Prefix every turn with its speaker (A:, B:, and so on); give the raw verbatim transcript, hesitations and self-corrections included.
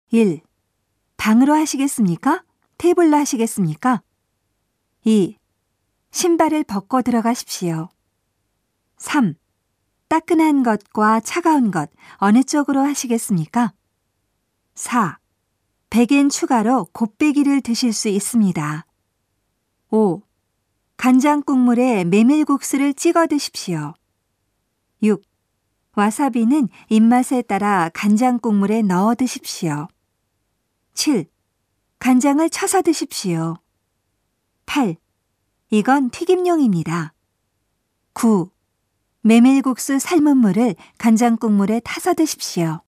A: 일. 방으로 하시겠습니까? 테이블로 하시겠습니까? 이. 신발을 벗고 들어가십시오. 삼. 따끈한 것과 차가운 것 어느 쪽으로 하시겠습니까? 사. 백엔 추가로 곱빼기를 드실 수 있습니다. 오. 간장 국물에 메밀국수를 찍어 드십시오. 육. 와사비는 입맛에 따라 간장 국물에 넣어 드십시오. 칠. 간장을 쳐서 드십시오. 팔. 이건 튀김용입니다. 구. 메밀국수 삶은 물을 간장 국물에 타서 드십시오.